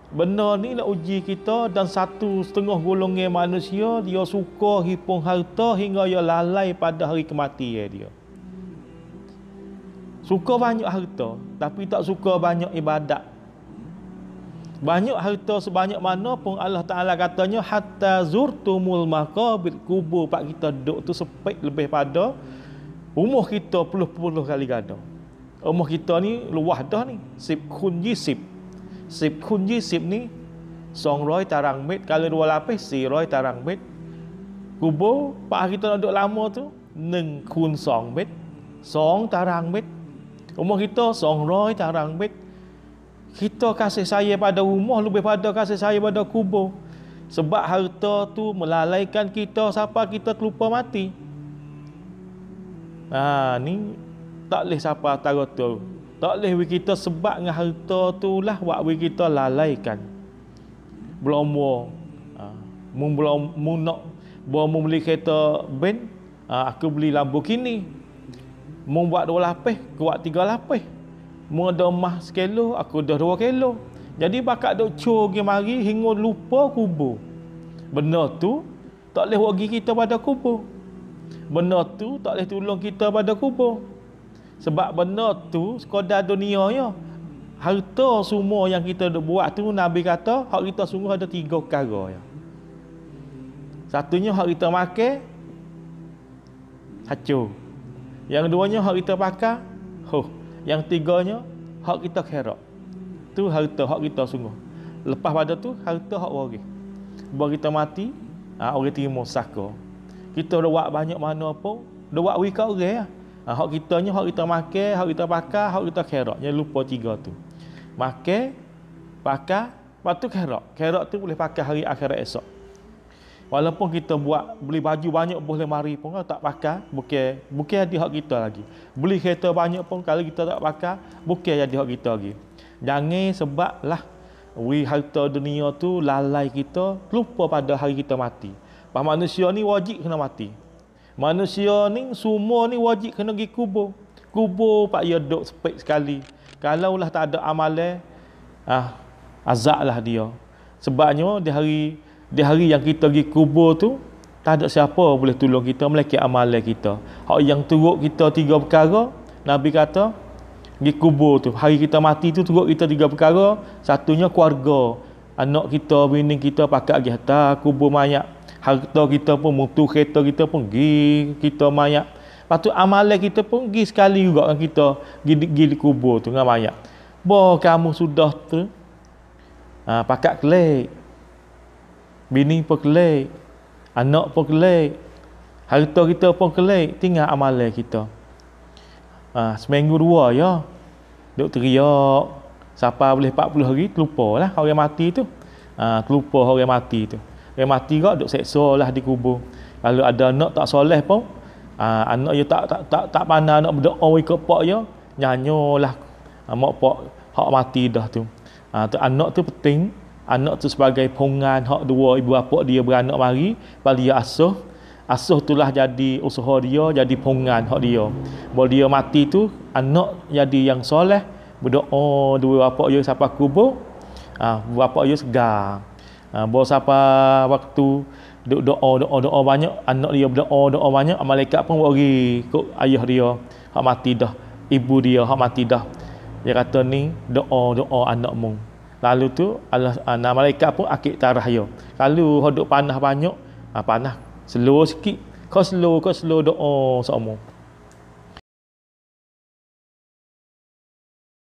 Benda ni nak uji kita, dan satu setengah golongan manusia dia suka hipung harta hingga dia lalai pada hari kematian dia. Suka banyak harta tapi tak suka banyak ibadat. Banyak harta sebanyak mana pun Allah Ta'ala katanya hatta zurtumul maqabir, kubur pak kita duduk tu sepek lebih pada umur kita puluh-puluh kali ganda. Umur kita ni luah dah ni, 10 kun 20. 10 kun 20 ni 200 tarang met, kalau 2 lapis 400 tarang met. Kubur pak kita nak duduk lama tu 1 kun 2 met, 2 tarang met. Umur kita 200 tarang met. Kita kasih sayang pada rumah lebih pada kasih sayang pada kubur. Sebab harta tu melalaikan kita sampai kita terlupa mati. Ni tak boleh siapa tahu tu. Tak boleh kita sebab dengan harta tu lah buat kita lalaikan. Belum nak beli kereta ben, aku beli Lamborghini. Mau buat 2 lapis, aku buat 3 lapis. Mau ada emas 1 kilo, aku dah 2 kilo. Jadi bakat duk cur pergi mari hingga lupa kubur. Benda tu tak boleh bagi kita pada kubur. Benda tu tak boleh tolong kita pada kubur. Sebab benda tu sekadar dunia ya. Harta semua yang kita duk buat tu Nabi kata hak kita sungguh ada 3 perkara ya. Satunya hak kita makan hancur. Yang keduanya hak kita pakai yang tiganya hak kita kherak. Tu harta hak kita sungguh. Lepas pada tu harta hak waris. Baru kita mati, orang terima saka. Kita dah buat banyak mana pun, dah buat wika orang lah. Hak kitanya hak kita makan, hak kita pakai, hak kita kherak. Jangan lupa 3 tu. Makan, pakai, lepas tu kherak. Kherak tu boleh pakai hari akhirat esok. Walaupun kita beli baju banyak boleh mari pun kalau tak pakai, bukan jadi hak kita lagi. Beli kereta banyak pun kalau kita tak pakai, bukan jadi hak kita lagi. Jangan sebablah harta dunia tu lalai kita, lupa pada hari kita mati. Manusia ni wajib kena mati. Manusia ni semua ni wajib kena pergi kubur. Kubur pak dia duduk sepek sekali. Kalau lah tak ada amalan, azab lah dia. Sebabnya di hari yang kita pergi kubur tu, tak ada siapa boleh tolong kita melainkan amalan kita. Hak yang turut kita 3 perkara, Nabi kata, pergi kubur tu, hari kita mati tu turut kita 3 perkara. Satunya keluarga, anak kita, bini kita pakai pergi hantar kubur mayat. Harta kita pun, mutu kereta kita pun pergi kita mayat. Lepas tu amalan kita pun pergi sekali juga kan kita pergi di kubur tu dengan mayat. Kamu sudah tu pakai kelik, bini pun kelik, anak pun kelik, harta kita pun kelik, tinggal amalan kita. Seminggu 2 ya, duk teriak, siapa boleh 40 hari, terlupa lah orang mati tu. Terlupa orang mati tu. Orang mati kau duk seksa lah di kubur. Kalau ada anak tak soleh pun, anak dia tak pandai nak berdoa ikut pak dia, nyanyolah mak pak hak mati dah tu. Anak tu penting. Anak tu sebagai pongan hak 2 ibu bapa dia beranak mari, bagi dia asuh itulah jadi usaha dia, jadi pongan hak dia. Bila dia mati tu anak jadi yang soleh, berdoa 2 bapa dia sampai kubur, bapa dia segar. Bawa sampai waktu doa banyak, anak dia berdoa banyak, malaikat pun bagi kok ayah dia hak mati dah, ibu dia hak mati dah. Dia kata ni doa anakmu. Lalu tu Allah malaikat pun akik tarah dia. Kalau hodok panah banyak, panah slow sikit. Kau slow doa sama.